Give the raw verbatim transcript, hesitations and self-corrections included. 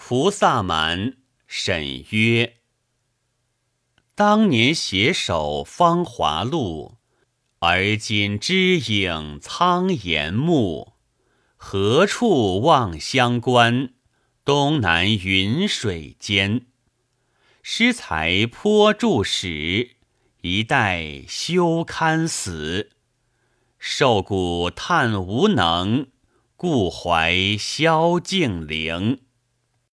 菩萨蛮，沈约。当年携手芳华路，而今知影苍岩木。何处望乡关？东南云水间。诗才颇著史，一代休堪死。受鼓叹无能，故怀萧敬陵。